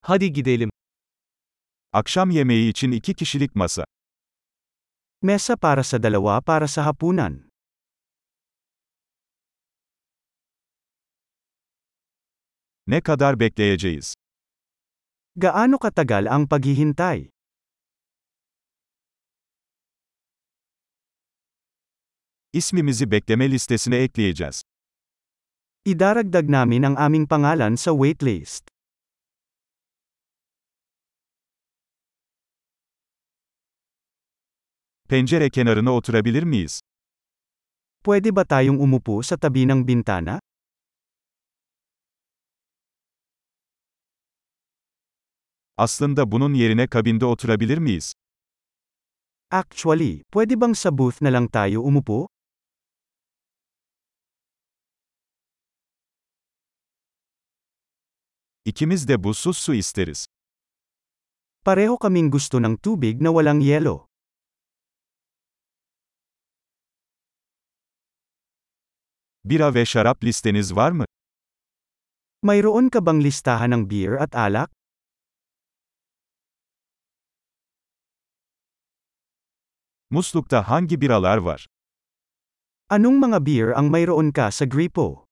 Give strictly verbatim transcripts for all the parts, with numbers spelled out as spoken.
Hadi gidelim. Akşam yemeği için iki kişilik masa. Mesa para sa dalawa para sa hapunan. Ne kadar bekleyeceğiz? Gaano katagal ang paghihintay? İsmimizi bekleme listesine ekleyeceğiz. Idaragdag namin ang aming pangalan sa waitlist. Pencere kenarına oturabilir miyiz? Pwede ba tayong umupo sa tabi ng bintana? Aslında bunun yerine kabinde oturabilir miyiz? Actually, pwede bang sa booth na lang tayo umupo? İkimiz de buzsuz su isteriz. Pareho kaming gusto ng tubig na walang yelo. Bira ve şarap listeniz var mı? Mayroon ka bang listahan ng beer at alak? Muslukta hangi biralar var? Anong mga beer ang mayroon ka sa gripo?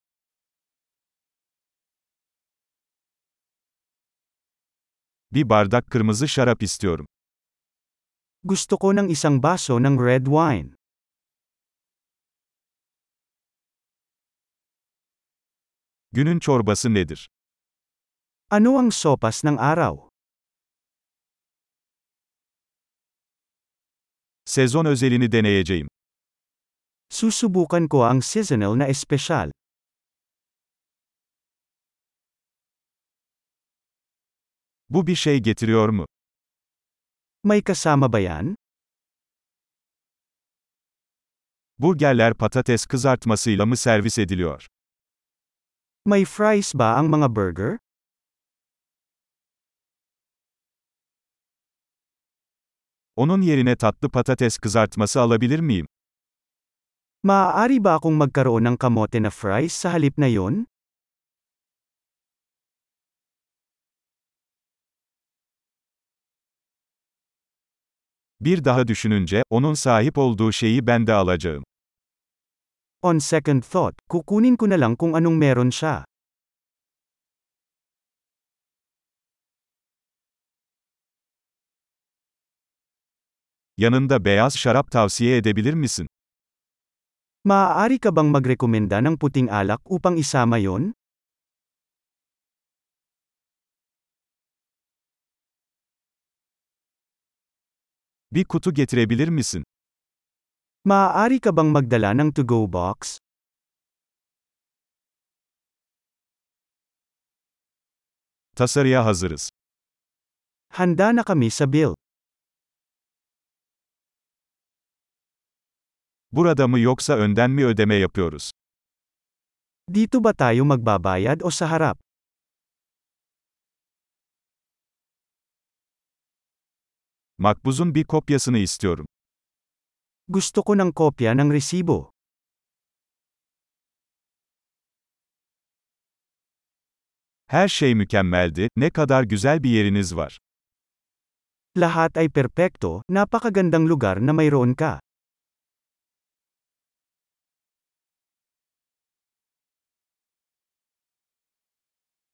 Bir bardak kırmızı şarap istiyorum. Gusto ko ng isang baso ng red wine. Günün çorbası nedir? Ano ang sopas ng araw? Sezon özelini deneyeceğim. Susubukan ko ang seasonal na espesyal. Bu bir şey getiriyor mu? May kasama ba yan? Burgerler patates kızartmasıyla mı servis ediliyor? May fries ba ang mga burger? Onun yerine tatlı patates kızartması alabilir miyim? Maaari ba akong magkaroon ng kamote na fries sa halip na yon? Bir daha düşününce, onun sahip olduğu şeyi ben de alacağım. On second thought, kukunin ko na lang kung anong meron siya. Yanında beyaz şarap tavsiye edebilir misin? Maaari ka bang magrekomenda ng puting alak upang isama yon? Bir kutu getirebilir misin? Maaari ka bang magdala ng to-go box? Tasarıya hazırız. Handa na kami sa bill. Burada mı yoksa önden mi ödeme yapıyoruz? Dito ba tayo magbabayad o sa harap? Makbuzun bir kopyasını istiyorum. Gusto ko ng kopya ng resibo. Her şey mükemmeldi, ne kadar güzel bir yeriniz var. Lahat ay perpekto, napakagandang lugar na mayroon ka.